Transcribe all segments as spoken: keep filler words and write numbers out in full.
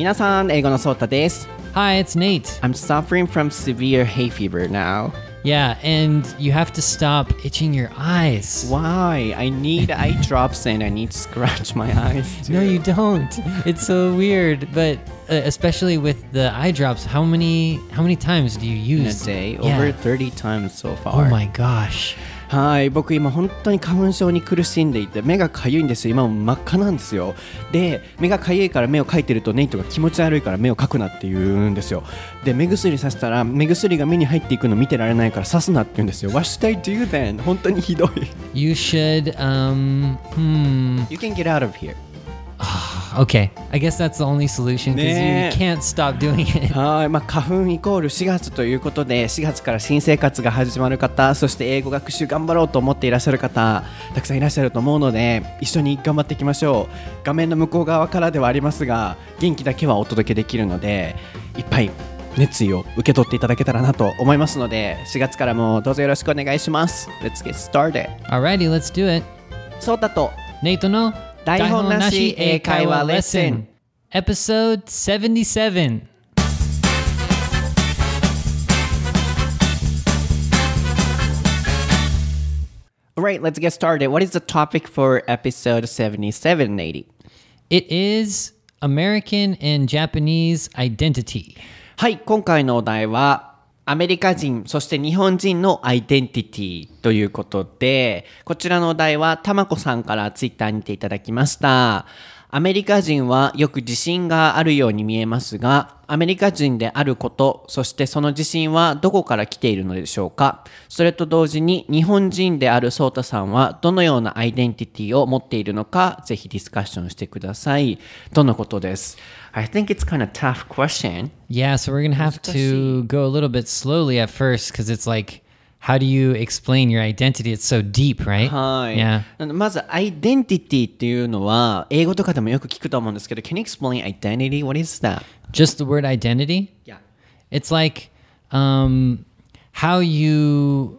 皆さん、英語のソータです。 Hi, it's Nate. I'm suffering from severe hay fever now. Yeah, and you have to stop itching your eyes. Why? I need eye drops and I need to scratch my eyes too. No, you don't. It's so weird, but uh, especially with the eye drops, how many how many times do you In a use? day, Yeah. over thirty times so far. Oh my gosh. はい、僕今本当に花粉症に苦しんでいて目がかゆいんですよ。今も真っ赤なんですよ。で、目がかゆいから目をかいてるとネイトが気持ち悪いから目をかくなって言うんですよ。で、目薬させたら目薬が目に入っていくの見てられないから刺すなって言うんですよ。What should I do then? 本当にひどい。 You should um hmm You can get out of here. okay. I guess that's the only solution because 네. you can't stop doing it. はい、まあ、花粉イコールしがつということでしがつから新生活が始まる方、そして英語学習頑張ろうと思っていらっしゃる方たくさんいらっしゃると思うので一緒に頑張っていきましょう。画面の向こう側からではありますが元気だけはお届けできるのでいっぱい熱意を受け取っていただけたらなと思いますのでしがつからもどうぞよろしくお願いします。 Let's get started. Alrighty, let's do it. そうだと Nate no 台本なし英会話レッスン Episode seventy-seven. Alright, let's get started. What is the topic for episode seventy-seven, Nate? It is American and Japanese identity. はい、今回のお題はアメリカ人そして日本人のアイデンティティということで、こちらのお題はたまこさんからツイッターにていただきました。アメリカ人はよく自信があるように見えますが、アメリカ人であること、そしてその自信はどこから来ているのでしょうか。それと同時に日本人であるソータさんはどのようなアイデンティティを持っているのか、ぜひディスカッションしてください。とのことです。I think it's kind of tough question. Yeah, so we're going to have to go a little bit slowly at first because it's like, how do you explain your identity? It's so deep, right? はい。 Yeah. まず、アイデンティティっていうのは、英語とかでもよく聞くと思うんですけど、Can you explain identity? What is that? Just the word identity? Yeah. It's like um, how you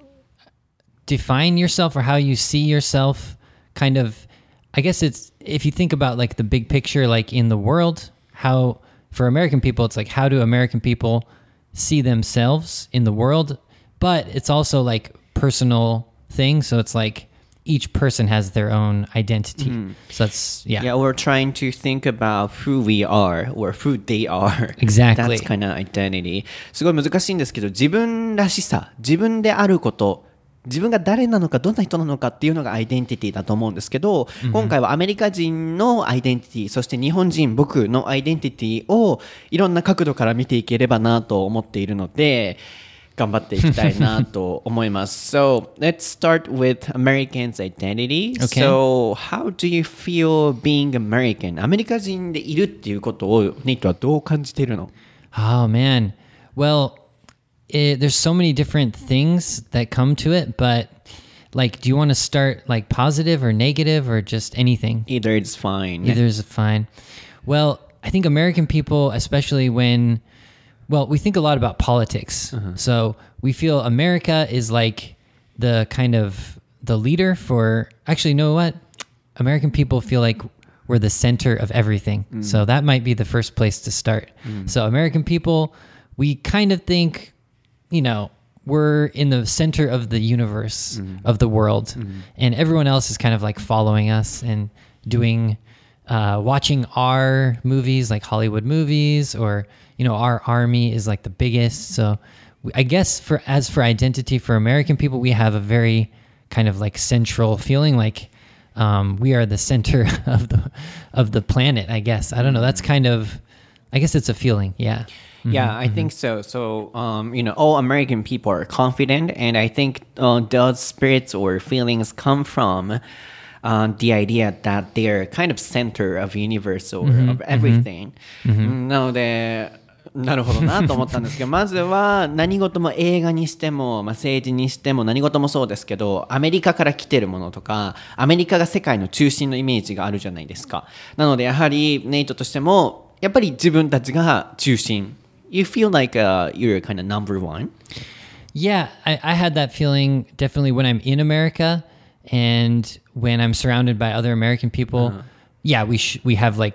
define yourself or how you see yourself. Kind of, I guess it's, if you think about like the big picture, like in the world, how, for American people, it's like, how do American people see themselves in the world? But it's also like personal thing. So it's like each person has their own identity. So that's, yeah. Yeah, we're trying to think about who we are or who they are. Exactly. That's kind of identity. すごい難しいんですけど、自分らしさ、自分であること、自分が誰なのかどんな人なのかっていうのがアイデンティティだと思うんですけど、mm-hmm. 今回はアメリカ人のアイデンティティ、そして日本人僕のアイデンティティをいろんな角度から見ていければなと思っているので頑張っていきたいなと思います。So, let's start with Americans' identity. Okay. So, how do you feel being American? アメリカ人でいるっていうことをネイトはどう感じているの？ Oh, man. Well, it, there's so many different things that come to it, but like, do you want to start like positive or negative or just anything? Either is fine. Either is fine. Well, I think American people, especially when, well, we think a lot about politics. Uh-huh. So we feel America is like the kind of the leader for, actually, you know what? American people feel like we're the center of everything. Mm. So that might be the first place to start. Mm. So American people, we kind of think, you know, we're in the center of the universe, mm. of the world. Mm. And everyone else is kind of like following us and doing, uh, watching our movies, like Hollywood movies, or, you know, our army is like the biggest. So we, I guess for, as for identity for American people, we have a very kind of like central feeling like, um, we are the center of the, of the planet, I guess. I don't know. That's kind of, I guess it's a feeling. Yeah. Yeah, Mm-hmm, I mm-hmm. think so. So, um, you know, all American people are confident, and I think uh, those spirits or feelings come from uh, the idea that they're kind of center of universe or mm-hmm, of everything. Mm-hmm. なので、なるほどなと思ったんですけど、まずは何事も映画にしても、まあ、政治にしても何事もそうですけど、アメリカから来てるものとか、アメリカが世界の中心のイメージがあるじゃないですか。なのでやはりネイトとしても、やっぱり自分たちが中心。You feel like uh, you're kind of number one? Yeah, I, I had that feeling definitely when I'm in America and when I'm surrounded by other American people. Uh-huh. Yeah, we sh- we have like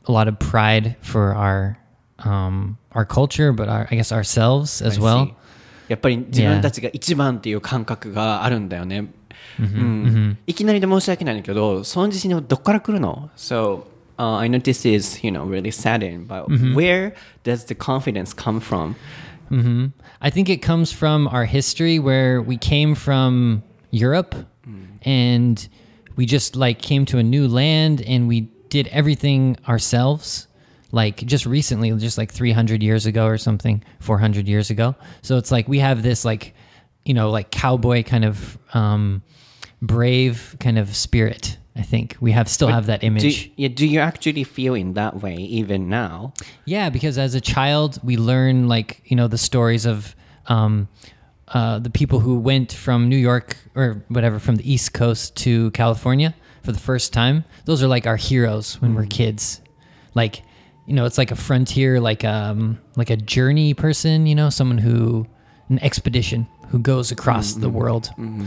a lot of pride for our um, our culture, but our, I guess ourselves as well. やっぱり自分たちが一番っていう感覚があるんだよね。 Mm-hmm, うん mm-hmm. いきなりで申し訳ないんだけど、その自信はどっから来るの ?So, uh, I know this is, you know, really saddening, but Mm-hmm. where does the confidence come from? Mm-hmm. I think it comes from our history where we came from Europe and we just like came to a new land and we did everything ourselves. Like just recently, just like three hundred years ago or something, four hundred years ago. So it's like we have this like, you know, like cowboy kind of um, brave kind of spirit. I think we have still have that Do, image. yeah, do you actually feel in that way even now? Yeah, because as a child, we learn like, you know, the stories of um, uh, the people who went from New York or whatever, from the East Coast to California for the first time. Those are like our heroes when we're kids. Like, you know, it's like a frontier, like um, like a journey person, you know, someone who, an expedition who goes across the world.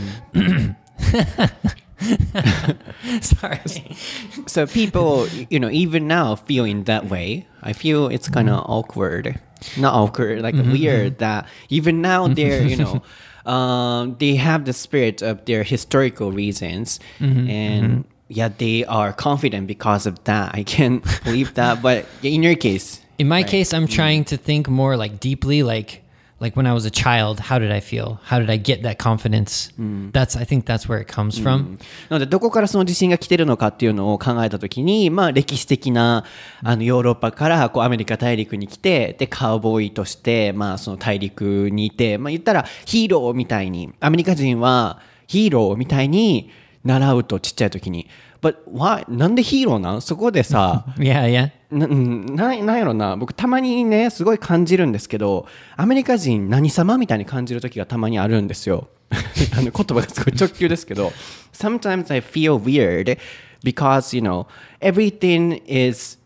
Sorry. So people, you know, even now feel in that way. I feel it's kind of awkward. Not awkward, like weird that even now they're, you know, um, they have the spirit of their historical reasons. And yeah, they are confident because of that. I can't believe that. But in your case. In my case, I'm trying to think more like deeply, like like when I was a child, how did I feel? How did I get that confidence? That's I think that's where it comes from. なのでどこからその自信が来てるのかっていうのを考えたときに、まあ歴史的なあのヨーロッパからこうアメリカ大陸に来て、でカウボーイとしてまあその大陸にいて、まあ言ったらヒーローみたいにアメリカ人はヒーローみたいに習うとちっちゃい時に。But why? なんでヒーローなん？そこでさ。 Yeah, yeah. な, な, なんやろな僕たまにねすごい感じるんですけどアメリカ人何様みたいに感じる時がたまにあるんですよあの言葉がすごい直球ですけど Sometimes I feel weird because you know everything is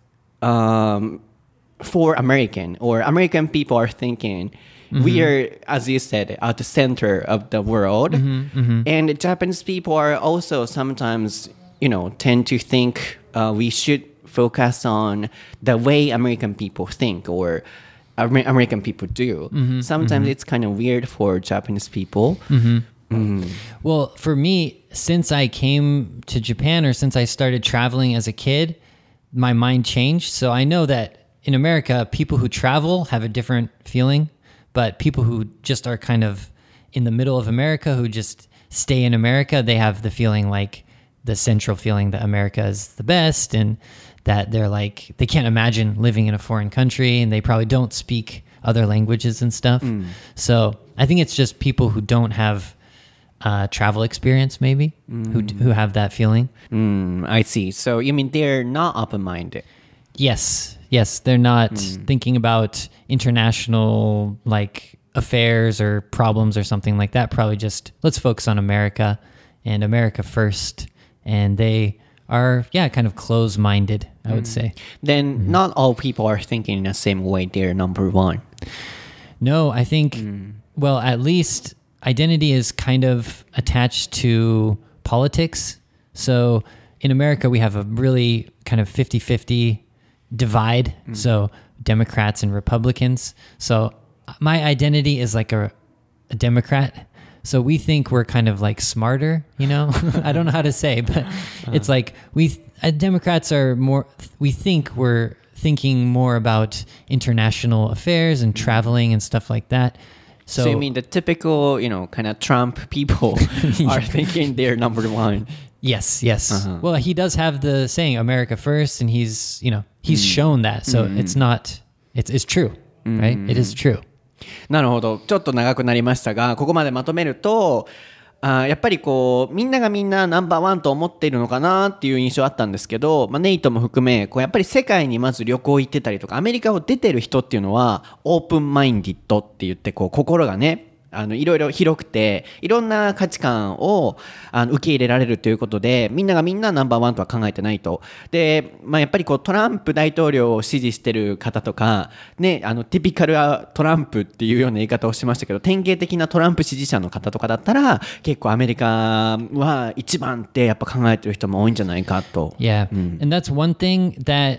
um, for American or American people are thinking mm-hmm. we are as you said at the center of the world mm-hmm, mm-hmm. and Japanese people are also sometimes you know tend to think uh, we should focus on the way American people think or Amer- American people do. Mm-hmm, Sometimes mm-hmm. it's kind of weird for Japanese people. Mm-hmm. Mm. Well, for me, since I came to Japan or since I started traveling as a kid, my mind changed. So I know that in America, people who travel have a different feeling, but people who just are kind of in the middle of America, who just stay in America, they have the feeling like the central feeling that America is the best and that they're like, they can't imagine living in a foreign country and they probably don't speak other languages and stuff. Mm. So I think it's just people who don't have uh, travel experience maybe, mm. who who have that feeling. Mm, I see. So you mean they're not open-minded? Yes. Yes. They're not mm. thinking about international like affairs or problems or something like that. Probably just let's focus on America and America first. And they are, yeah, kind of close-minded, I would mm. say. Then mm-hmm. not all people are thinking in the same way they're number one. No, I think, mm. well, at least identity is kind of attached to politics. So in America, we have a really kind of fifty-fifty divide. Mm. So Democrats and Republicans. So my identity is like a, a Democrat. So we think we're kind of like smarter, you know? I don't know how to say, but uh-huh. it's like we uh, Democrats are more, we think we're thinking more about international affairs and traveling and stuff like that. So, so you mean the typical, you know, kind of Trump people are thinking they're number one? Yes, yes. Uh-huh. Well, he does have the saying America first, and he's, you know, he's mm. shown that. So mm. it's not, it's, it's true, mm. right? It is true. なるほど。ちょっと長くなりましたが、ここまでまとめると、あやっぱりこうみんながみんなナンバーワンと思っているのかなっていう印象あったんですけど、まあ、ネイトも含めこうやっぱり世界にまず旅行行ってたりとかアメリカを出てる人っていうのはオープンマインディッドって言ってこう心がねあのいろいろ広くていろんな価値観をあの受け入れられるということでみんながみんなナンバーワンとは考えてないと。で、まあ、やっぱりこうトランプ大統領を支持してる方とか、ね、あのティピカルトランプっていうような言い方をしましたけど典型的なトランプ支持者の方とかだったら結構アメリカは一番ってやっぱ考えてる人も多いんじゃないかと。 Yeah、うん、and that's one thing that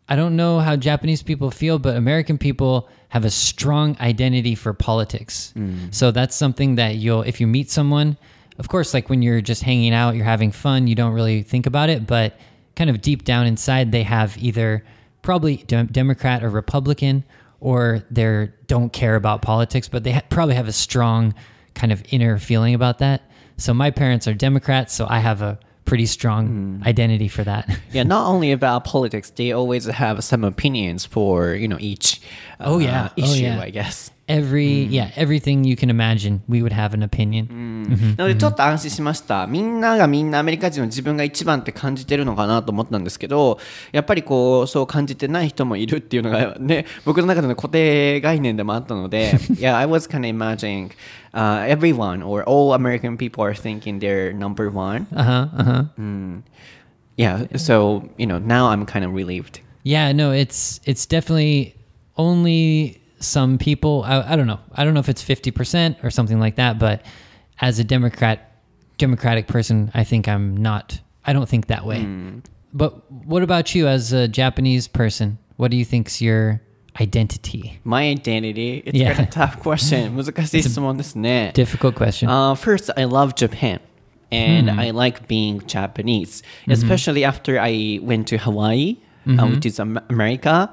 I don't know how Japanese people feel, but American people have a strong identity for politics. So that's something that you'll, if you meet someone, of course, like when you're just hanging out, you're having fun, you don't really think about it, but kind of deep down inside, they have either probably de- Democrat or Republican, or they don't care about politics, but they ha- probably have a strong kind of inner feeling about that. So my parents are Democrats, so I have a pretty strong mm. identity for that. Yeah, not only about politics, they always have some opinions for, you know, each uh, oh, yeah. issue, oh, yeah. I guess. Every, mm. yeah, everything you can imagine, we would have an opinion. なのでちょっと安心しました。みんながみんなアメリカ人の自分が一番って感じてるのかなと思ったんですけど、やっぱりこうそう感じてない人もいるっていうのがね、僕の中での固定概念でもあったので、yeah, I was kind of imagining uh, everyone or all American people are thinking they're number one. Uh-huh, uh-huh. Mm. Yeah, so, you know, now I'm kind of relieved. Yeah, no, it's it's definitely only some people, I, I don't know. I don't know if it's fifty percent or something like that, but as a Democrat, Democratic person, I think I'm not, I don't think that way. Mm. But what about you as a Japanese person? What do you think's your identity? My identity? It's yeah. kind of a tough question. 難しい質問ですね。 Difficult question. Uh, first, I love Japan. And hmm. I like being Japanese, especially mm-hmm. after I went to Hawaii, mm-hmm. uh, which is um, America.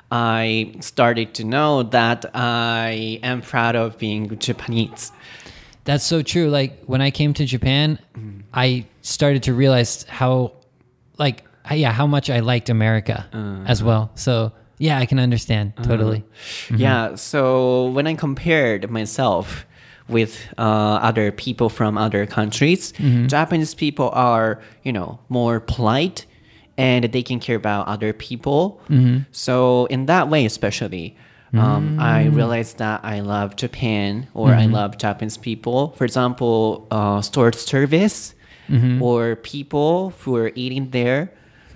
I started to know that I am proud of being Japanese. That's so true. Like when I came to Japan, mm. I started to realize how, like, yeah, how much I liked America uh, as well. So yeah, I can understand totally. Uh, mm-hmm. Yeah. So when I compared myself with uh, other people from other countries, mm-hmm. Japanese people are, you know, more polite. And they can care about other people. Mm-hmm. So in that way, especially, um, mm. I realized that I love Japan or mm-hmm. I love Japanese people. For example, uh, store service mm-hmm. or people who are eating there.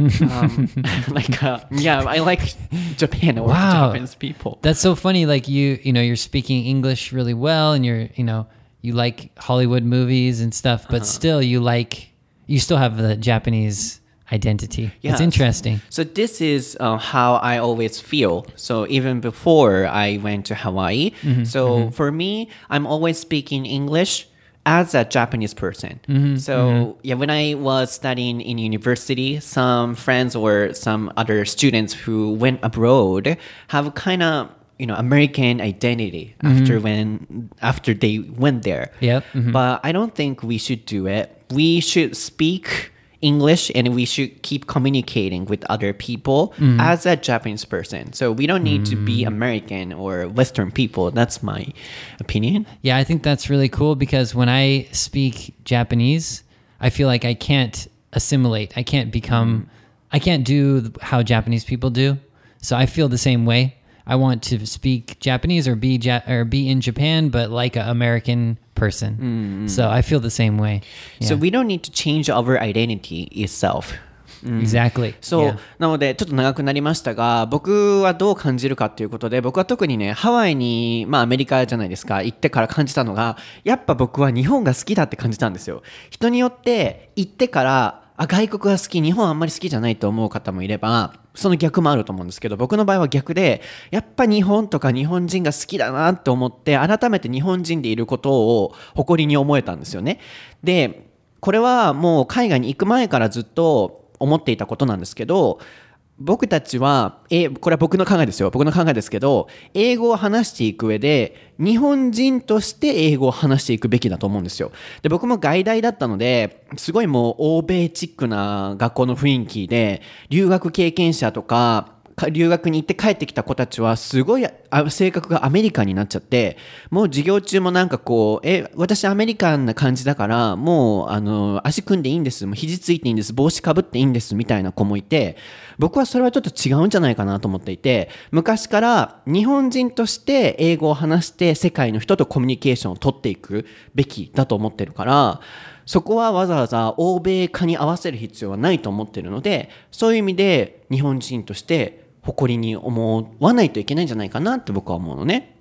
um, like uh, yeah, I like Japan or wow. Japanese people. That's so funny. Like you, you know, you're speaking English really well, and you're, you know, you like Hollywood movies and stuff, but uh-huh. still, you like, you still have the Japanese identity. Yeah. It's interesting. So this is uh, how I always feel. So even before I went to Hawaii, mm-hmm, so mm-hmm. for me, I'm always speaking English as a Japanese person. Mm-hmm, so mm-hmm. yeah, when I was studying in university, some friends or some other students who went abroad have kind of, you know, American identity mm-hmm. after when after they went there. Yep. Mm-hmm. But I don't think we should do it. We should speak English and we should keep communicating with other people mm. as a Japanese person. So we don't need mm. to be American or Western people. That's my opinion. Yeah, I think that's really cool because when I speak Japanese, I feel like I can't assimilate. I can't become, mm. I can't do how Japanese people do. So I feel the same way. I want to speak Japanese or be ja- or be in Japan, but like an American person. Mm. So I feel the same way. Yeah. So we don't need to change our identity itself. Exactly. そう、 yeah. なのでちょっと長くなりましたが、僕はどう感じるかということで、僕は特にね、ハワイに、まあアメリカじゃないですか、行ってから感じたのが、やっぱ僕は日本が好きだって感じたんですよ。人によって行ってから、あ、外国が好き、日本あんまり好きじゃないと思う方もいれば、その逆もあると思うんですけど、僕の場合は逆で、やっぱ日本とか日本人が好きだなって思って、改めて日本人でいることを誇りに思えたんですよね。で、これはもう海外に行く前からずっと思っていたことなんですけど、僕たちは、え、これは僕の考えですよ。僕の考えですけど、英語を話していく上で、日本人として英語を話していくべきだと思うんですよ。で、僕も外大だったので、すごいもう欧米チックな学校の雰囲気で、留学経験者とか、留学に行って帰ってきた子たちはすごい性格がアメリカンになっちゃって、もう授業中もなんかこう、え、私アメリカンな感じだから、もうあの足組んでいいんです、もう肘ついていいんです、帽子かぶっていいんですみたいな子もいて、僕はそれはちょっと違うんじゃないかなと思っていて、昔から日本人として英語を話して世界の人とコミュニケーションを取っていくべきだと思ってるから、そこはわざわざ欧米化に合わせる必要はないと思っているので、そういう意味で日本人として誇りに思わないといけないんじゃないかなって僕は思うのね。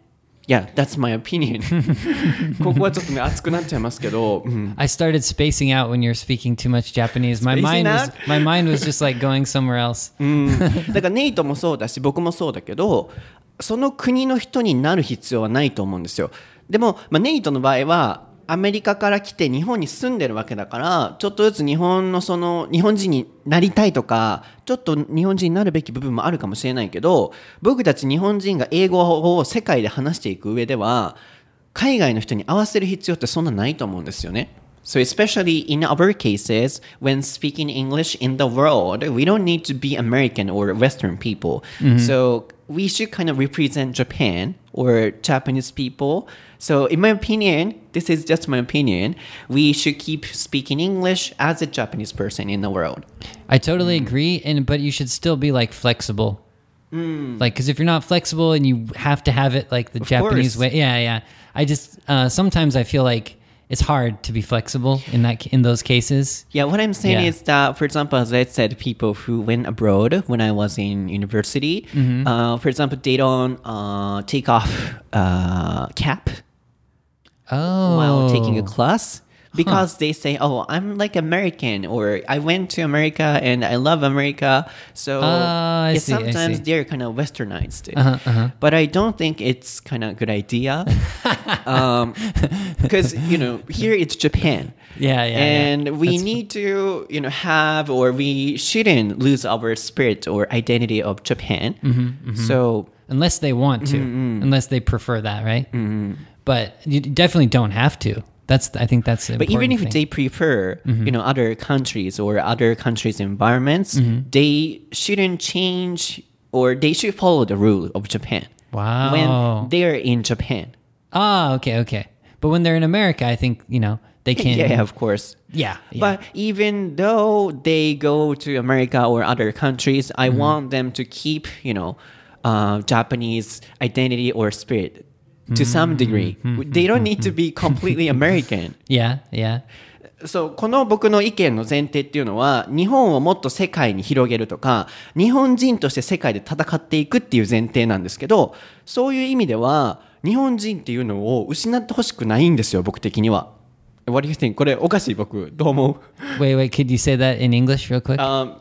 Yeah, that's my opinion. ここはちょっとね熱くなっちゃいますけど、うん、 I started spacing out when you're speaking too much Japanese. My mind was my mind was just like going somewhere else. うん、だからネイトもそうだし僕もそうだけど、その国の人になる必要はないと思うんですよ。でも、まあ、ネイトの場合はアメリカから来て日本に住んでるわけだから、ちょっとずつ日本のその日本人になりたいとか、ちょっと日本人になるべき部分もあるかもしれないけど、僕たち日本人が英語を世界で話していく上では、海外の人に合わせる必要ってそんなないと思うんですよね。So especially in our cases, when speaking English in the world, we don't need to be American or Western people. Mm-hmm. So we should kind of represent Japan or Japanese people. So in my opinion, this is just my opinion, we should keep speaking English as a Japanese person in the world. I totally agree, and but you should still be like flexible. Mm. Like, because if you're not flexible and you have to have it like the of Japanese course. way, yeah, yeah. I just uh, sometimes I feel like it's hard to be flexible in that in those cases. Yeah, what I'm saying Yeah. is that, for example, as I said, people who went abroad when I was in university, Mm-hmm. uh, for example, they don't uh, take off uh, cap Oh, while taking a class because they say, oh, I'm like American, or I went to America and I love America. So Ah, I it's see, I sometimes see. they're kind of westernized. Uh-huh, uh-huh. But I don't think it's kind of a good idea. um, because, you know, here it's Japan. Yeah, yeah, And yeah. we That's need to, you know, have, or we shouldn't lose our spirit or identity of Japan. Mm-hmm, So unless they want to, Mm-hmm. unless they prefer that, right? But you definitely don't have to. That's I think that's the But even important if thing. they prefer, you know, other countries or other countries' environments, they shouldn't change, or they should follow the rule of Japan Wow. when they're in Japan. Ah, okay, okay. But when they're in America, I think, you know, they can. Yeah, of course. Yeah. yeah. But even though they go to America or other countries, I want them to keep, you know, uh, Japanese identity or spirit to some degree. They don't need to be completely American. yeah, yeah. そうこの僕の意見の前提っていうのは、日本をもっと世界に広げるとか、日本人として世界で戦っていくっていう前提なんですけど、そういう意味では日本人っていうのを失ってほしくないんですよ、僕的には。What do you think? これおかしい僕どう思う？ Wait, wait, could you say that in English real quick? Um,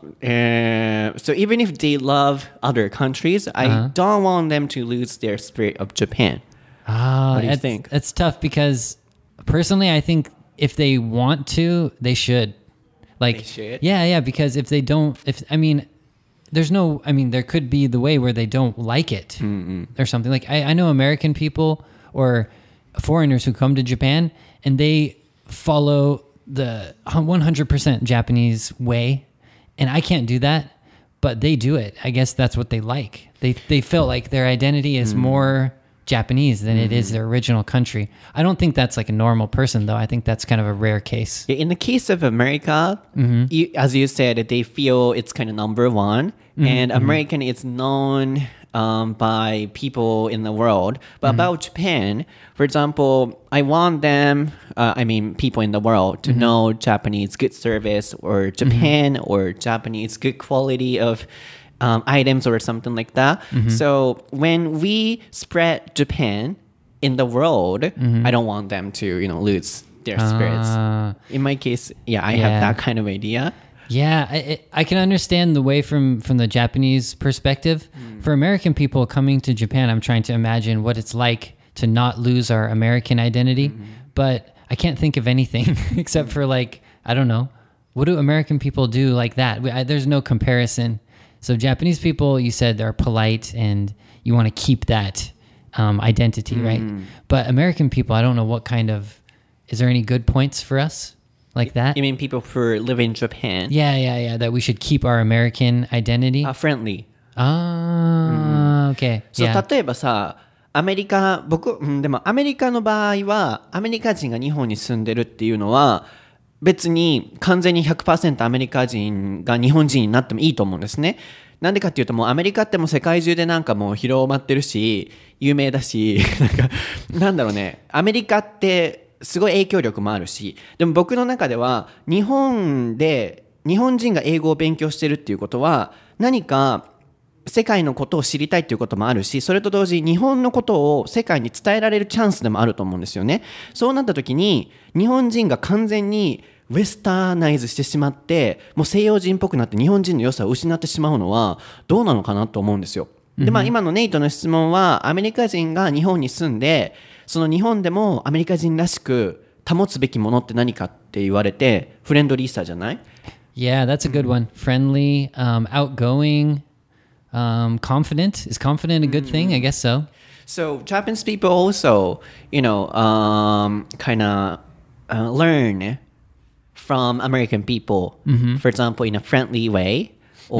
uh, so even if they love other countries, I Uh-huh. don't want them to lose their spirit of Japan. Ah, what do you it's, think? It's tough because personally, I think if they want to, they should. Like, They should? Yeah, yeah. Because if they don't, if I mean, there's no. I mean, there could be the way where they don't like it Mm-hmm. or something. Like I, I know American people or foreigners who come to Japan and they follow the one hundred percent Japanese way, and I can't do that, but they do it. I guess that's what they like. They they feel like their identity is more Japanese than it is their original country. I don't think that's like a normal person, though. I think that's kind of a rare case. In the case of America, you, as you said, they feel it's kind of number one, and American is known um, by people in the world. But about Japan, for example, I want them, uh, I mean, people in the world to know Japanese good service, or Japan or Japanese good quality of um, items or something like that. So when we spread Japan in the world, I don't want them to, you know, lose their spirits. Ah. In my case, yeah, I Yeah. have that kind of idea. Yeah, I, I- I can understand the way from, from the Japanese perspective. For American people coming to Japan, I'm trying to imagine what it's like to not lose our American identity. But I can't think of anything except for like, I don't know. What do American people do like that? We, I, there's no comparison. So Japanese people, you said they're polite and you want to keep that um, identity, right? But American people, I don't know what kind of, is there any good points for us like that? You mean people who live in Japan? Yeah, yeah, yeah. That we should keep our American identity. Uh, friendly. Ah, okay. そう、 Yeah. 例えばさ、アメリカ、僕、うんでもアメリカの場合は、アメリカ人が日本に住んでるっていうのは、別に完全に ひゃくパーセント アメリカ人が日本人になってもいいと思うんですね。なんでかっていうと、もうアメリカってもう世界中でなんかもう広まってるし、有名だし、なんか、なんだろうね、アメリカってすごい影響力もあるし、でも僕の中では、日本で、日本人が英語を勉強してるっていうことは、何か、 世界のことを知りたいっていうこともあるし、それと同時に日本のことを世界に伝えられるチャンスでもあると思うんですよね。そうなった時に日本人が完全にウェスターナイズしてしまって、もう西洋人っぽくなって日本人の良さを失ってしまうのはどうなのかなと思うんですよ。で、まあ今のネイトの質問は、アメリカ人が日本に住んで、その日本でもアメリカ人らしく保つべきものって何かって言われて、フレンドリーさじゃない？ Yeah, that's a good one. Friendly, um, outgoing, um, confident. Is confident a good thing? I guess so. So Japanese people also, you know, um, kind of uh, learn from American people, mm-hmm. for example, in a friendly way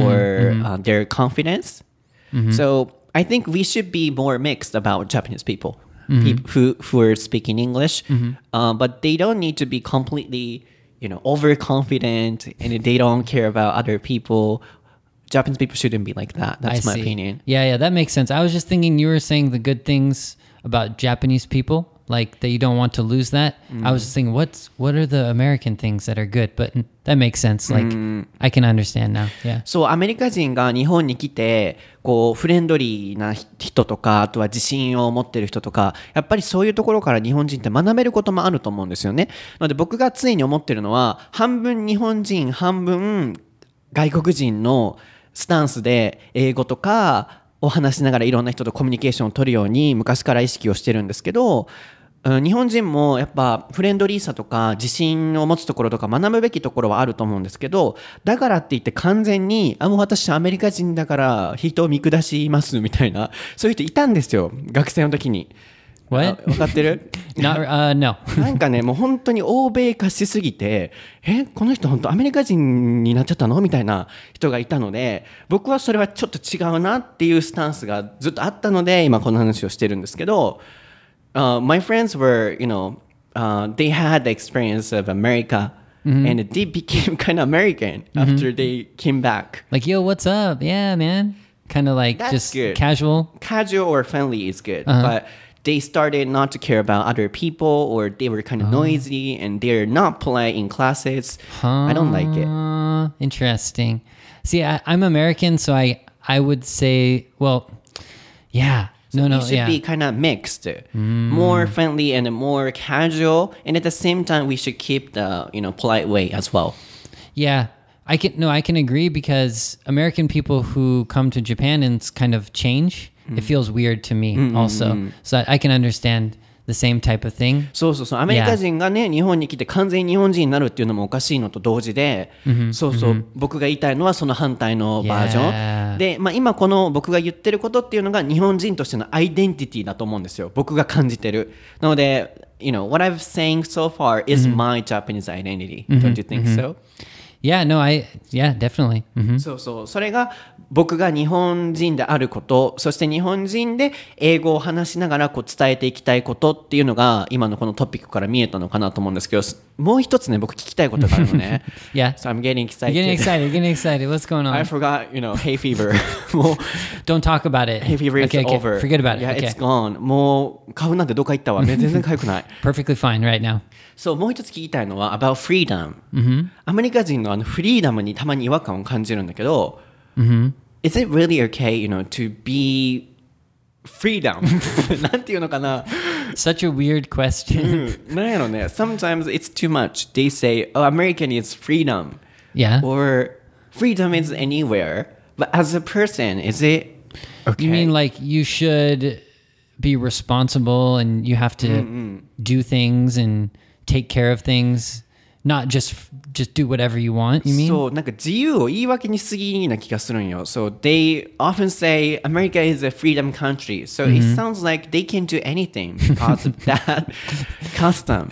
or mm-hmm. uh, their confidence. Mm-hmm. So I think we should be more mixed about Japanese people, mm-hmm. people who, who are speaking English, mm-hmm. uh, but they don't need to be completely, you know, overconfident and they don't care about other people. Japanese people shouldn't be like that. That's I my see. opinion. Yeah, yeah, that makes sense. I was just thinking you were saying the good things about Japanese people, like that you don't want to lose that. Mm. I was just thinking, what's what are the American things that are good? But that makes sense. Like mm. I can understand now. Yeah. そう、アメリカ人が日本に来て、こうフレンドリーな人とか、あとは自信を持ってる人とか、やっぱりそういうところから日本人って学べることもあると思うんですよね。なので僕がついに思ってるのは、半分日本人、半分外国人のスタンスで英語とかを話しながらいろんな人とコミュニケーションを取るように昔から意識をしてるんですけど、日本人もやっぱフレンドリーさとか自信を持つところとか学ぶべきところはあると思うんですけど、だからって言って完全にあもう私アメリカ人だから人を見下しますみたいな、そういう人いたんですよ、学生の時に。 What? 分かってる？ Not, uh, no. なんかね、もう本当に欧米化しすぎて、え、この人本当アメリカ人になっちゃったのみたいな人がいたので、僕はそれはちょっと違うなっていうスタンスがずっとあったので、今この話をしてるんですけど、uh, my friends were, you know, uh, they had the experience of America, mm-hmm. and they became kind of American after mm-hmm. they came back. Like, yo, what's up? Yeah, man. Kind of like That's just good. casual. Casual or friendly is good, uh-huh. but they started not to care about other people, or they were kind of oh. noisy and they're not polite in classes. Huh. I don't like it. Interesting. See, I, I'm American, so I, I would say, well, yeah. So no, no, you should yeah. be kind of mixed, mm. more friendly and more casual, and at the same time, we should keep the, you know, polite way as well. Yeah. I can no, I can agree because American people who come to Japan and kind of change, mm. it feels weird to me mm-hmm. also. So I can understand the same type of thing. そうそうそう。アメリカ人がね、日本に来て完全に日本人になるっていうのもおかしいのと同時で、mm-hmm. そうそう、mm-hmm. 僕が言いたいのはその反対のバージョン。Yeah. で、まあ今この僕が言ってることっていうのが日本人としてのアイデンティティだと思うんですよ。僕が感じてる。なので、you know, what I've saying so far is mm-hmm. my Japanese identity. Mm-hmm. Don't you think mm-hmm. so?Yeah, no, I, yeah, definitely. Mm-hmm. そうそう。それが僕が日本人であること、そして日本人で英語を話しながらこう伝えていきたいことっていうのが今のこのトピックから見えたのかなと思うんですけど、もう一つね、僕聞きたいことがあるのね。 Yeah. So I'm getting excited. You're getting excited, getting excited. What's going on? I forgot, you know, hay fever. もう Don't talk about it. Hay fever is okay, okay. over. Forget about it. Yeah, okay. it's gone. もう花粉なんてどっか行ったわ。全然痒くない。 Perfectly fine right now. そう、もう一つ聞きたいのは about freedom、mm-hmm. アメリカ人のあのフリーダムにたまに違和感を感じるんだけど、 mm-hmm. Is it really okay, you know, to be freedom? なんていうのかな Such a weird question. なんやろね Sometimes it's too much. They say, oh, American is freedom. Yeah. Or freedom is anywhere. But as a person, is it okay? You mean like you should be responsible and you have to mm-hmm. do things and take care of things, not just just do whatever you want, you mean? そう、なんか自由を言い訳にしすぎな気がするんよ。So they often say America is a freedom country. So mm-hmm. it sounds like they can do anything because of that custom.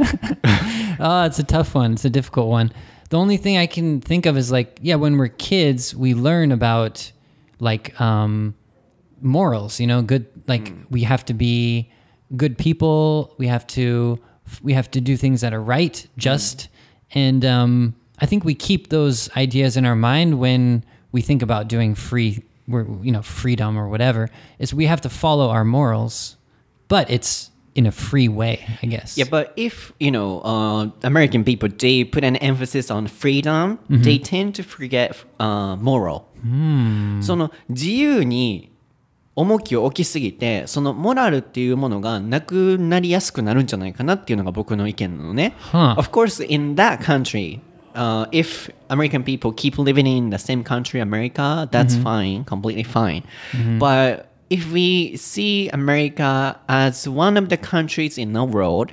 Oh, it's a tough one. It's a difficult one. The only thing I can think of is like, yeah, when we're kids, we learn about like um, morals, you know, good, like mm. we have to be good people. We have to we have to do things that are right, just. Mm. And um, I think we keep those ideas in our mind when we think about doing free, you know, freedom or whatever. Is we have to follow our morals, but it's in a free way, I guess. Yeah, but if, you know, uh, American people, they put an emphasis on freedom, they tend to forget uh, moral. その自由に重きを置きすぎて、そのモラルっていうものがなくなりやすくなるんじゃないかなっていうのが僕の意見なのね。 Huh. Of course, in that country, uh, if American people keep living in the same country, America, that's fine, completely fine. But if we see America as one of the countries in the world,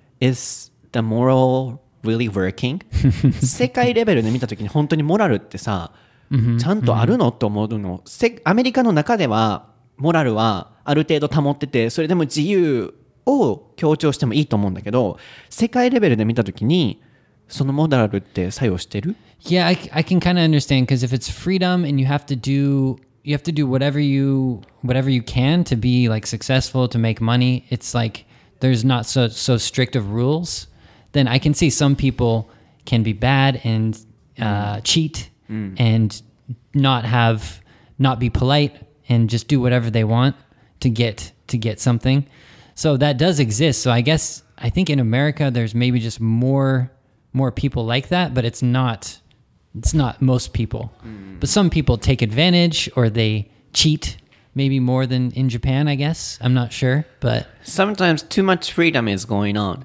is the moral really working? 世界レベルで見たときに本当にモラルってさ、ちゃんとあるのと思うの。せアメリカの中ではモラルはある程度保ってて、それでも自由を強調してもいいと思うんだけど、世界レベルで見たときにそのモラルって作用してる？ Yeah, I, I can kind of understand because if it's freedom and you have to do you have to do whatever you whatever you can to be like successful to make money, it's like there's not so so strict of rules. Then I can see some people can be bad and uh, cheat and not have not be polite and just do whatever they want to get to get something. So that does exist. So I guess I think in America there's maybe just more more people like that, but it's not it's not most people. But some people take advantage or they cheat maybe more than in Japan, I guess. I'm not sure, but Sometimes too much freedom is going on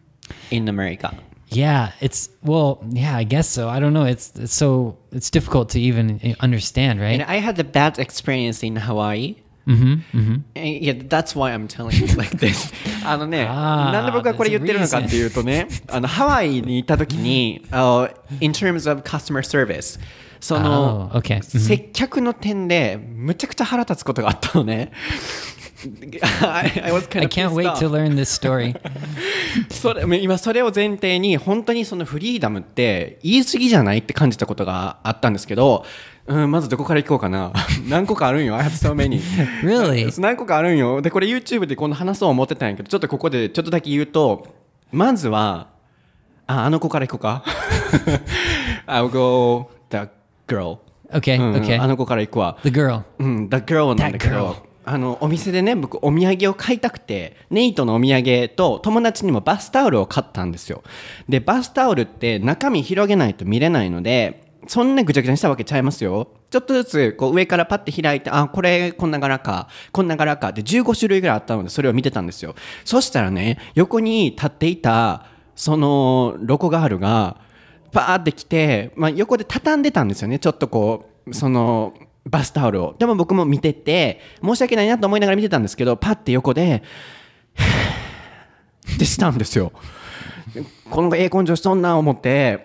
in America. yeah, it's well, yeah, I guess so. I don't know. It's it's so it's difficult to even understand, right? And I had a bad experience in Hawaii. Mm-hmm, mm-hmm. And yeah, that's why I'm telling you like this. あのね、 あーなんで僕がこれ言ってるのかっていうとね、あのハワイに行った時に、uh, in terms of customer service、その、 Oh, okay. 接客の点でむちゃくちゃ腹立つことがあったのね。I, I was kind I of can't pissed wait off. to learn this story. それ今それを前提に本当にそのフリーダムって言い過ぎじゃないって感じたことがあったんですけど、うん、まずどこから行こうかな。何個かあるんよ。I have so many. Really? 何個かあるんよ。でこれ YouTube でこの話そう思ってたんやけど、ちょっとここでちょっとだけ言うと、まずはああの子から行こうか。I'll go the girl. Okay, うん、 okay. あの子から行くわ。 The girl. うん、The Girl なんだけ That girl. ど、あのお店でね、僕お土産を買いたくて、ネイトのお土産と友達にもバスタオルを買ったんですよ。でバスタオルって中身広げないと見れないので、そんなぐちゃぐちゃにしたわけちゃいますよ。ちょっとずつこう上からパッて開いて、あ、これこんな柄か、こんな柄かってじゅうご種類ぐらいあったので、それを見てたんですよ。そしたらね、横に立っていたそのロコガールがパーって来て、まあ、横で畳んでたんですよね。ちょっとこうそのバスタオルを。でも僕も見てて申し訳ないなと思いながら見てたんですけど、パッて横でってしたんですよ。このええ根性しとんな思って、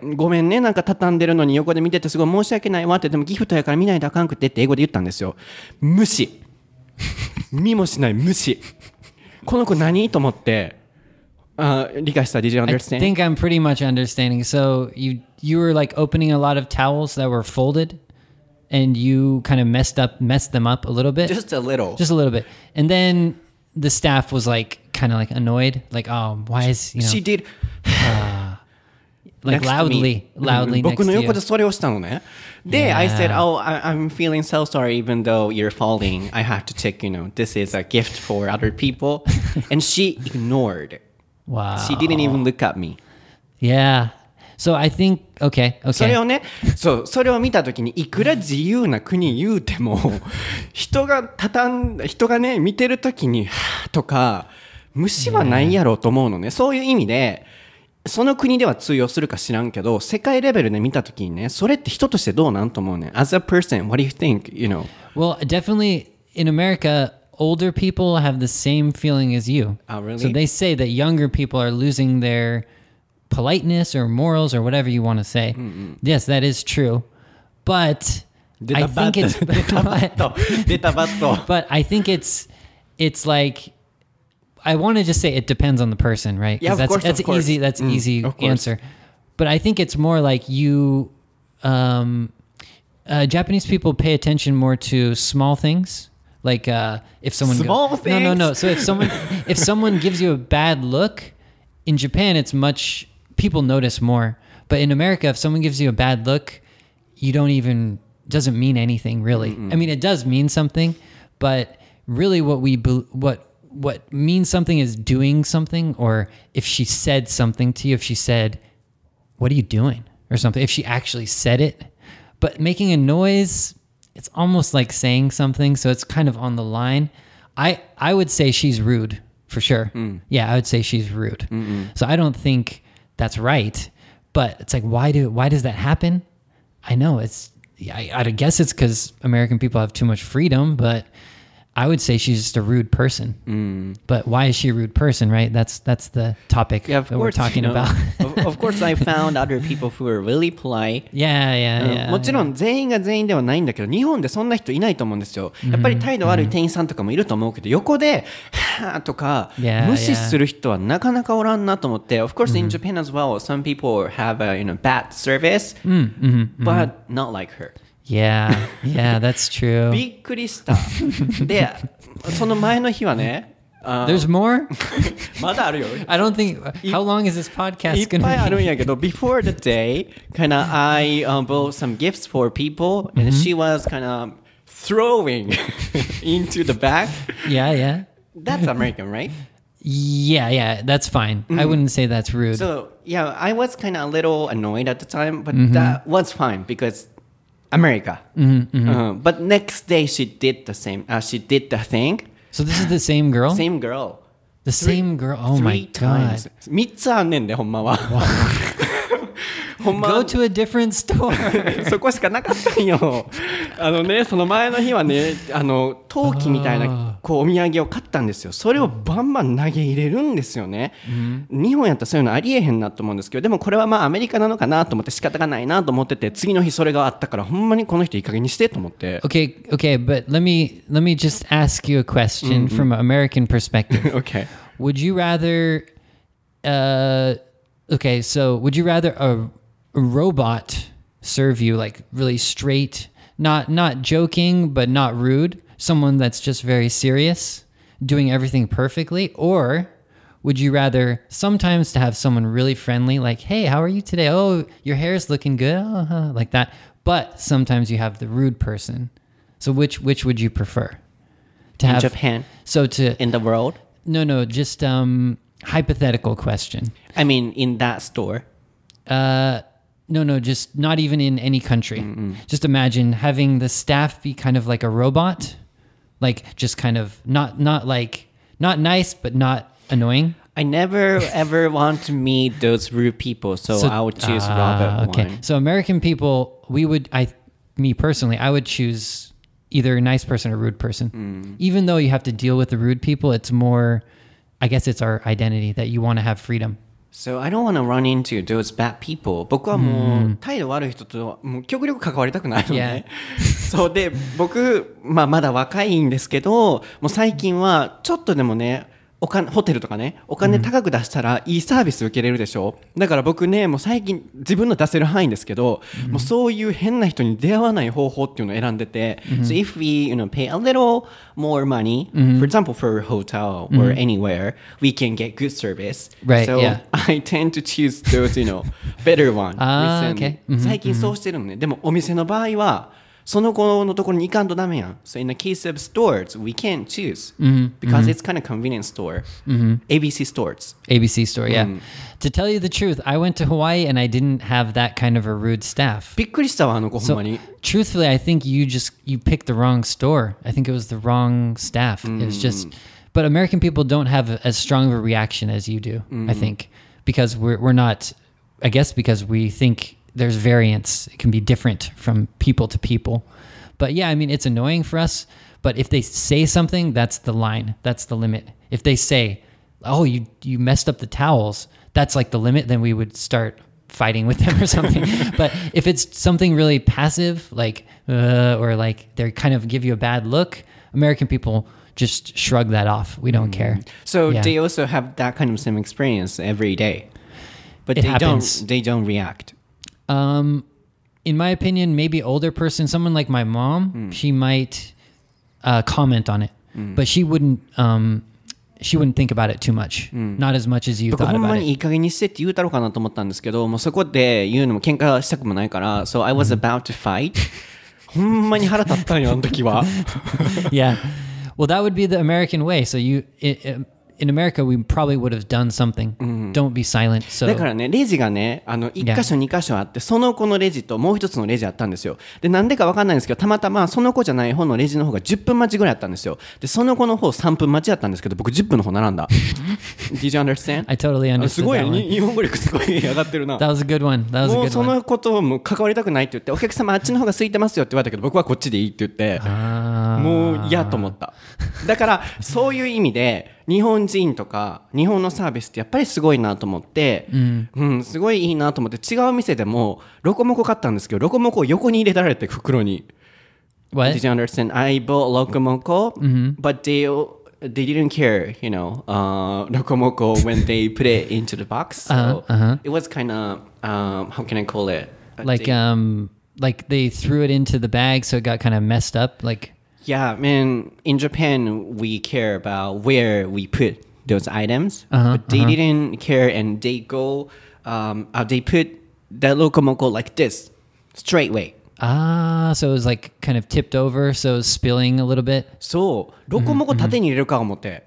ごめんね、なんか畳んでるのに横で見ててすごい申し訳ないわって、でもギフトやから見ないとあかんくてって英語で言ったんですよ。無視。見もしない無視。この子何と思って、あ、理解した？ Did you I understand? think I'm pretty much understanding. So you you were like opening a lot of towels that were folded, and you kind of messed up messed them up a little bit, Just a little. just a little bit, and then the staff was like kind of like annoyed, like, oh, why is you know She did like next to loudly me. loudly うん next 僕の to 横 you. でそれをしたのね。で、 Yeah. I said, oh, I, I'm feeling so sorry even though you're falling. I have to check, you know, this is a gift for other people. And she ignored. Wow. She didn't even look at me. Yeah. So I think okay, それ okay. をね、そう、それを見たときにいくら自由な国言うても、人が畳んだ、人がね、見てるときに、はぁとか、虫はないやろうと思うのね。そういう意味で、その国では通用するか知らんけど、世界レベルで見たときにね、それって人としてどうなんと思うね。As a person, what do you think? You know? Well, definitely in America, older people have the same feeling as you. Oh, really? So they say that younger people are losing their politeness or morals or whatever you want to say. Yes, that is true. But I think it's 出たバット。出たバット。 but I think it's it's like I want to just say it depends on the person, right? 'Cause Yeah, of that's course, that's of course. easy. That's Mm, easy of course. answer. But I think it's more like you um uh, Japanese people pay attention more to small things. Like uh, if someone Small goes, no no no. things? So if someone if someone gives you a bad look, in Japan it's much people notice more. But in America, if someone gives you a bad look, you don't even doesn't mean anything really. I mean, it does mean something, but really what we be, what what means something is doing something, or if she said something to you, if she said, "What are you doing?" or something, if she actually said it. But making a noise, it's almost like saying something, so it's kind of on the line. I I would say she's rude for sure. Mm. Yeah, I would say she's rude. Mm-mm. So I don't think that's right. But it's like, why do why does that happen? I know it's. I, I guess it's because American people have too much freedom, but I would say she's just a rude person. Mm. But why is she a rude person, right? That's that's the topic yeah, of that course, we're talking you know, about. of, of course, I found other people who are really polite. Yeah, yeah, yeah. もちろん全員が全員ではないんだけど、日本でそんな人いないと思うんですよ。やっぱり態度悪い店員さんとかもいると思うけど、横ではぁとか無視する人はなかなかおらんなと思って。Of course, in Japan as well, some people have a you know bad service, but not like her. Yeah, yeah, that's true. びっくりした。で、その前の日はね、 There's more? まだあるよ。 I don't think. How long is this podcast いっ going ぱいあ to るん be? やけど、before the day, kind of I um, bought some gifts for people, and she was kind of throwing into the bag. Yeah, yeah. That's American, right? Yeah, yeah, that's fine. I wouldn't say that's rude. So, yeah, I was kind of a little annoyed at the time, but that was fine because America. Mm-hmm, mm-hmm. Uh, but next day she did the same. Uh, she did the thing. So this is the same girl? Same girl. The same girl? Oh my Three times. god. みっつあんねんで、ほんまは。ほんま Go to a different store. そこしかなかったんよ。あのね、その前の日はね、あの陶器みたいなこうお土産を買ったんですよ。それをバンバン投げ入れるんですよね。Mm-hmm. 日本やったらそういうのありえへんなと思うんですけど、でもこれはまあアメリカなのかなと思って仕方がないなと思ってて、次の日それがあったからほんまにこの人いい加減にしてと思って。 Okay, okay, but let me let me just ask you a question mm-hmm. from an American perspective. Okay. Would you rather uh okay, so would you rather a a robot serve you like really straight, not not joking but not rude, someone that's just very serious, doing everything perfectly, or would you rather sometimes to have someone really friendly, like, hey, how are you today? Oh, your hair's looking good, uh-huh, like that, but sometimes you have the rude person. So which which would you prefer to in have? Japan, So to in the world? No, no, just um hypothetical question. I mean, in that store. Uh No, no, just not even in any country. Mm-mm. Just imagine having the staff be kind of like a robot, like just kind of not not like not nice but not annoying. I never ever want to meet those rude people, so, so I would choose uh, Robert okay. one. So American people, we would, I, me personally, I would choose either a nice person or rude person. Mm. Even though you have to deal with the rude people, it's more, I guess it's our identity that you want to have freedom. So I don't want to run into those bad people. 僕はもう態度悪い人ともう極力関わりたくないのね。そうで僕、まあ、まだ若いんですけど、もう最近はちょっとでもね、お金ホテルとかね、お金高く出したらいいサービス受けれるでしょ。だから僕ね、もう最近自分の出せる範囲ですけど、もうそういう変な人に出会わない方法っていうのを選んでて、So if we, you know, pay a little more money, for example, for a hotel or anywhere, we can get good service. Right, so yeah. I tend to choose those, you know, better one. あー、okay. 最近そうしてるのね。でもお店の場合はその子のところに行かんとダメやん。So in the case of stores, we can't choose mm-hmm. because mm-hmm. it's kind of convenience store. Mm-hmm. A B C stores. A B C store, yeah. Mm. To tell you the truth, I went to Hawaii and I didn't have that kind of a rude staff. びっくりしたわ、あの子ほん So まに。 truthfully, I think you just you picked the wrong store. I think it was the wrong staff. Mm. It was just, but American people don't have as strong of a reaction as you do. Mm. I think because we're we're not. I guess because we think there's variance. It can be different from people to people. But yeah, I mean, it's annoying for us. But if they say something, that's the line. That's the limit. If they say, "Oh, you you messed up the towels," that's like the limit. Then we would start fighting with them or something. But if it's something really passive, like uh, or like they kind of give you a bad look, American people just shrug that off. We don't care. So Yeah. they also have that kind of same experience every day, but It they happens. don't. They don't react. Um, in my opinion, maybe older person, someone like my mom, she might uh, comment on it, but she wouldn't. Um, she wouldn't think about it too much. Not as much as you 僕 thought ほん about まに it. いい加減にしてって言うたろうかなと思ったんですけど、もうそこで言うのも喧嘩したくもないから、So I was about to fight. ほんまに腹立ったんよ、あの時は。 Yeah. Well, that would be the American way. So you, it, it, in America, we probably would have done something. Don't be silent. So だからね、レジがね、あの、いっ箇所、に箇所あって、その子のレジともう一つのレジあったんですよ。で、なんでかわかんないんですけど、たまたまその子じゃない方のレジの方がじゅっぷん待ちぐらいあったんですよ。で、その子の方さんぷん待ちだったんですけど、僕じゅっぷんの方並んだ。Did you understand? I totally あ understood すごい that ね、 one. に日本語力すごい上がってるな。 That was a good one. That was a もう good そ one. のことをもう関わりたくないって言って、お客様あっちの方が空いてますよって言われたけど、僕はこっちでいいって言って、もう嫌と思った。だからそういう意味で日本人とか日本のサービスってやっぱりすごいなと思って、うんうん、すごいいいなと思って、違う店でもロコモコ買ったんですけど、ロコモコを横に入れられて袋に。 What? Did you understand? I bought Locomoco, but they they didn't care, you know, uh, Locomoco when they put it into the box. So Uh-huh, uh-huh. it was kind of, um, how can I call it? Like They- um, like they threw it into the bag, so it got kind of messed up. Like Yeah, man, in Japan, we care about where we put those items, Uh-huh, but they didn't care, and they go, um, uh, they put the Locomoco like this, straight way. ah, so it was like kind of tipped over, so it was spilling a little bit. そう、ロコモコ縦に入れるか思って。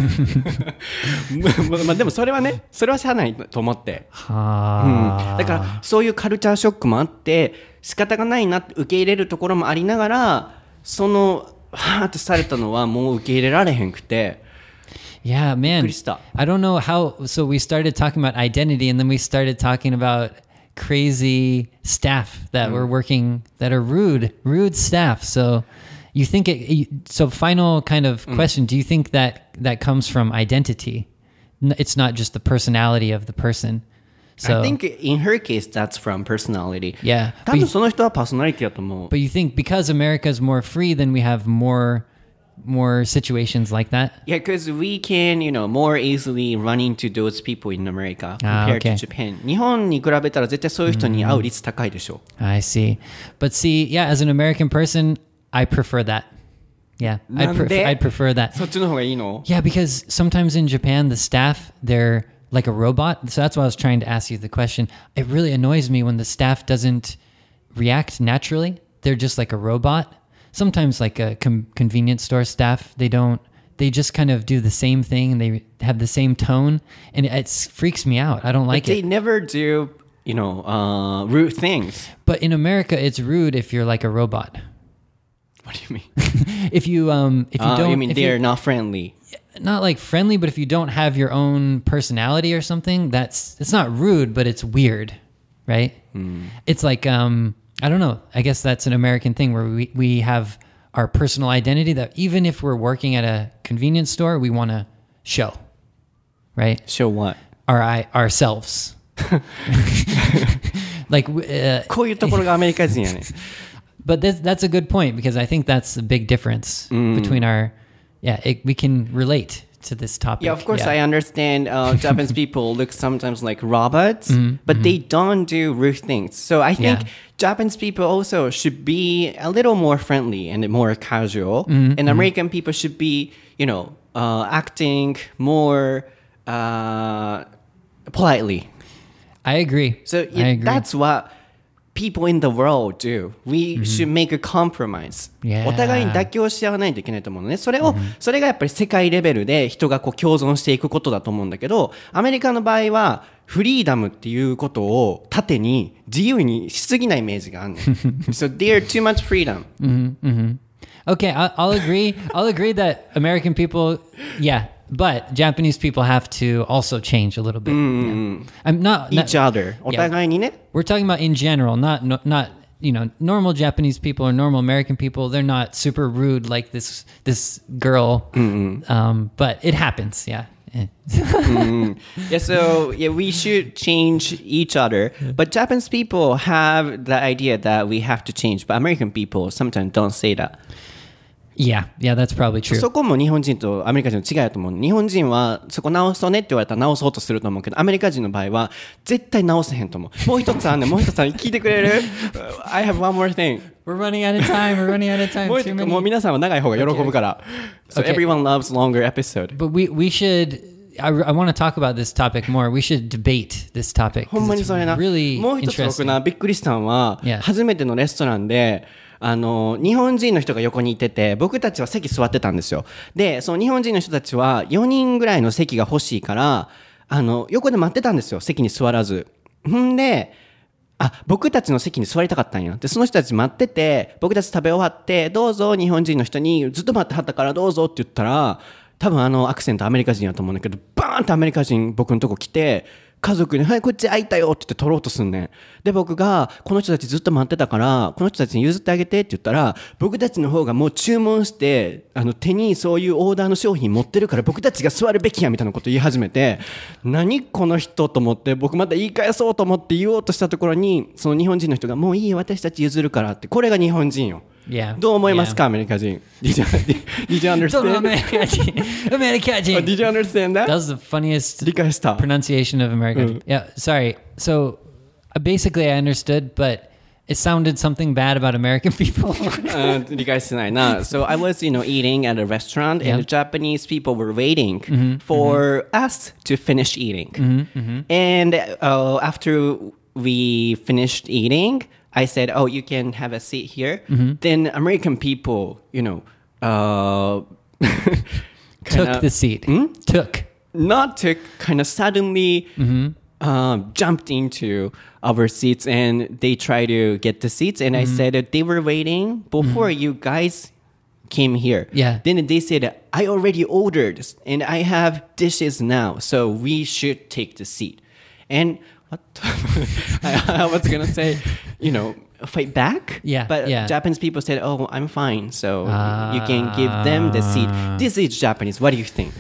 ままあでもそれはね、それはしゃあないと思って。うん、 Ah, だからそういうカルチャーショックもあって仕方がないなって受け入れるところもありながら、そのはーってされたのはもう受け入れられへんくて。 yeah, man. Krista. I don't know how. So we started talking about identity, and then we started talking about crazy staff that were working that are rude, rude staff. So you think it? you- So final kind of question: do you think that that comes from identity? N- It's not just the personality of the person. So I think in her case that's from personality. yeah, 多 but 分 you, その人はパーソナリティだと思う。 but you think because America is more free, then we have more more situations like that. Yeah, because we can, you know, more easily run into those people in America Ah, compared okay. to Japan. 日本に比べたら絶対そういう人に会う率高いでしょ。 I see. But see, yeah, as an American person, I prefer that. Yeah, I'd, なん pref- で I'd prefer that. そっちの方がいいの？ Yeah, because sometimes in Japan, the staff, they're like a robot. So that's why I was trying to ask you the question. It really annoys me when the staff doesn't react naturally. They're just like a robot. Sometimes like a com- convenience store staff, they don't, they just kind of do the same thing and they have the same tone. And it, it freaks me out. I don't like They it. never do, you know, uh, rude things. But in America, it's rude if you're like a robot. What do you mean? If you, um, if you Uh, don't, you mean if they're you- not friendly? not like friendly, but if you don't have your own personality or something, that's it's not rude, but it's weird, right? It's like um, I don't know. I guess that's an American thing where we we have our personal identity that even if we're working at a convenience store, we want to show, right? Show what? Our I ourselves. Like, uh, こういうところがアメリカ人やね。 but this, that's a good point because I think that's a big difference between our. Yeah, it, we can relate to this topic. Yeah, of course, I understand uh, Japanese people look sometimes like robots, but they don't do rude things. So I think Yeah. Japanese people also should be a little more friendly and more casual. And American people should be, you know, uh, acting more uh, politely. I agree. So I yeah, agree. that's what people in the world do. We should make a compromise. Yeah. お互いに妥協し合わないといけないと思うのね。それを、それがやっぱり世界レベルで人がこう共存していくことだと思うんだけど、アメリカの場合はフリーダムっていうことを盾に自由にしすぎないイメージがあるの。So they're too much freedom. Okay, I'll, I'll agree. I'll agree that American people, yeah, but Japanese people have to also change a little bit. Yeah. I'm not, not Each other. お互いにね。 we're talking about in general, not no, not you know normal Japanese people or normal American people. They're not super rude like this this girl, um, but it happens. Yeah. Eh. Yeah, so yeah, we should change each other. But Japanese people have the idea that we have to change. But American people sometimes don't say that. Yeah, yeah, that's probably true. そこも日本人とアメリカ人の違いだと思う。日本人はそこ直そうねって言われたら直そうとすると思うけど、アメリカ人の場合は絶対直せへんと思う。もう一つあんねん、もう一つあんねん。聞いてくれる？ I have one more thing. We're running out of time. We're running out of time. もう Too 一 many. もう皆さんは長い方が喜ぶから。So Okay. everyone loves longer episode. But we we should. I, I want to talk about this topic more. We should debate this topic. ほんまにそれな。 Really もう一つ僕 interesting. な、びっくりしたのは Yeah. 初めてのレストランで、 あの日本人の人が横にいてて、僕たちは席座ってたんですよ。でその日本人の人たちはよにんぐらいの席が欲しいから、あの横で待ってたんですよ、席に座らず。んであ僕たちの席に座りたかったんや。でその人たち待ってて、僕たち食べ終わって、どうぞ日本人の人にずっと待ってはったからどうぞって言ったら、多分あのアクセントアメリカ人やと思うんだけど、バーンってアメリカ人僕のとこ来て、家族にはいこっち空いたよって言って取ろうとすんねん。で僕がこの人たちずっと待ってたからこの人たちに譲ってあげてって言ったら、僕たちの方がもう注文してあの手にそういうオーダーの商品持ってるから僕たちが座るべきやみたいなこと言い始めて、何この人と思って、僕また言い返そうと思って言おうとしたところに、その日本人の人がもういいよ私たち譲るからって。これが日本人よ。 Yeah. どう思いますか、 Yeah. アメリカ人。Did you, did you understand? アメリカ人。アメリカ人。 Did you understand that? That was the funniest 理解した。 pronunciation of American. Mm. Yeah, sorry. So uh, basically I understood, but it sounded something bad about American people. あ理解してないな。So I was, you know, eating at a restaurant, Yeah. and the Japanese people were waiting Mhm, for us to finish eating. Mhm, mhm. And uh, after we finished eating, I said, "Oh, you can have a seat here." Mhm. Then American people, you know, uh, Took kinda- the seat. Hmm? Took. not took, kind of suddenly Mhm. um, jumped into our seats, and they tried to get the seats. And I said that they were waiting before you guys came here. Yeah. Then they said, I already ordered and I have dishes now, so we should take the seat. And what? I, I was going to say, you know, fight back. Yeah, But yeah. Japanese people said, oh, I'm fine. So you can give them the seat. This is Japanese. What do you think?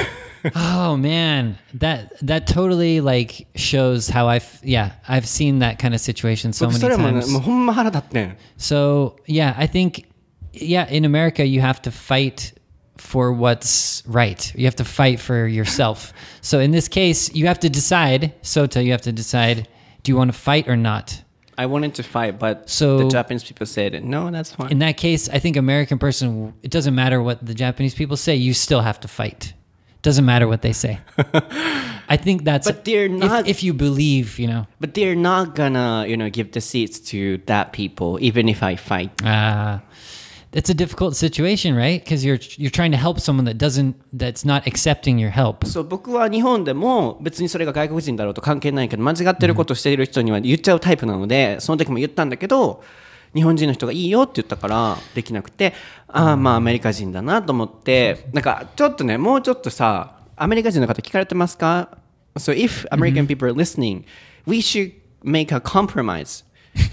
Oh man, that that totally like shows how I've yeah I've seen that kind of situation so 僕 many それもね、 times. もうほんま腹立ってん。 So yeah, I think yeah in America you have to fight for what's right. You have to fight for yourself. So in this case, you have to decide. Sota, you have to decide: do you want to fight or not? I wanted to fight, but So- the Japanese people said, no, that's fine. In that case, I think American person. It doesn't matter what the Japanese people say. You still have to fight. Doesn't matter what they say. I think that's. But they're not- If, if you believe, you know. But they're not gonna, you know, give the seats to that people, even if I fight. Uh, it's a difficult situation, right? Because you're you're trying to help someone that doesn't that's not accepting your help. そう、僕は日本でも別にそれが外国人だろうと関係ないけど、間違ってることをしている人には言っちゃうタイプなので、その時も言ったんだけど、日本人の人がいいよって言ったからできなくて、ああまあアメリカ人だなと思って、なんかちょっとね、もうちょっとさ、アメリカ人の方聞かれてますか？ So if American people are listening, we should make a compromise.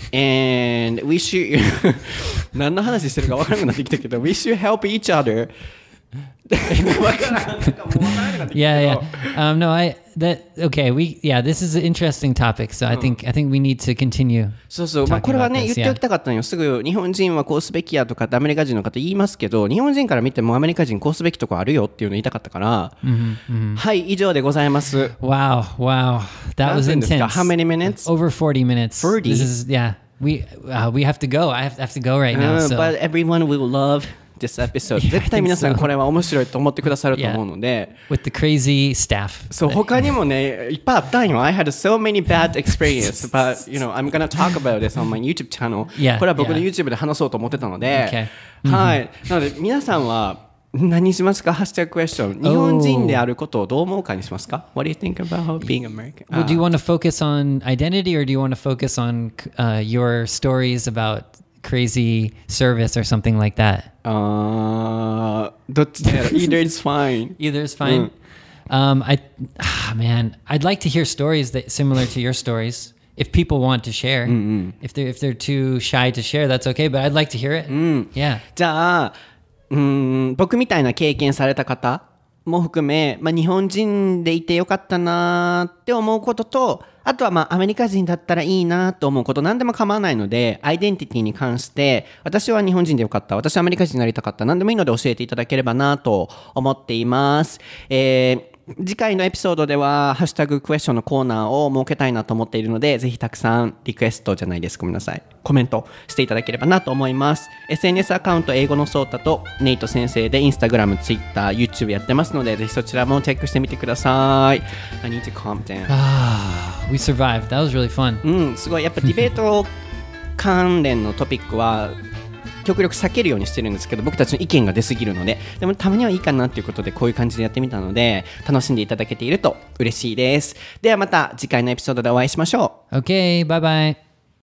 And we should 何の話してるか分からなくなってきたけど We should help each other. わからんなんかもう分からなくなってきたけど Yeah, yeah. Um, no, I that okay. We yeah. This is an interesting topic. So I think I think we need to continue. そうそう、まあ、 talking これは about ね this, 言っておきたかったのよ。すぐ日本人はこうすべきやとかってアメリカ人の方言いますけど、日本人から見てもアメリカ人こうすべきとこあるよっていうの言いたかったから、はい以上でございます。 Wow, wow. That was 何分ですか？ intense. How many minutes? Over forty minutes. forty? This is yeah. We uh, we have to go. I have, I have to go right now. うん So But everyone will love this episode. Yeah, 絶対皆さん I think so. これは面白いと思ってくださると思うので、 with the crazy staff. そう他にもねいっぱいあったんよ。I had so many bad experience, but you know I'm gonna talk about this on my YouTube channel. Yeah, これは僕の yeah. YouTube で話そうと思ってたので、 Okay. はい。なので皆さんは何しますか？ハッシュタグクエスチョン。日本人であることをどう思うかにしますか？ What do you think about being American? Well, do you want to focus on identity or do you want to focus on uh, your stories about crazy service or something like that? あーどっちだろう Either is fine. Either is fine. Um, I, ah, man, I'd like to hear stories that similar to your stories. If people want to share, if they're if they're too shy to share, that's okay. But I'd like to hear it. Yeah. じゃあ、うーん、僕みたいな経験された方も含め、まあ、日本人でいてよかったなって思うことと、あとはまあアメリカ人だったらいいなと思うこと何でも構わないので、アイデンティティに関して私は日本人でよかった、私はアメリカ人になりたかった、何でもいいので教えていただければなと思っています。えー次回のエピソードではハッシュタグクエスチョンのコーナーを設けたいなと思っているので、ぜひたくさんリクエストじゃないです、ごめんなさい、コメントしていただければなと思います。 エスエヌエス アカウント英語のソータとネイト先生でインスタグラム、ツイッター、YouTube やってますので、ぜひそちらもチェックしてみてください。 I need to calm down. Ah, we survived. That was really fun. うん、すごいやっぱディベート関連のトピックは極力避けるようにしてるんですけど、僕たちの意見が出すぎるので、でもたまにはいいかなっていうことでこういう感じでやってみたので、楽しんでいただけていると嬉しいです。ではまた次回のエピソードでお会いしましょう。 Okay, bye bye.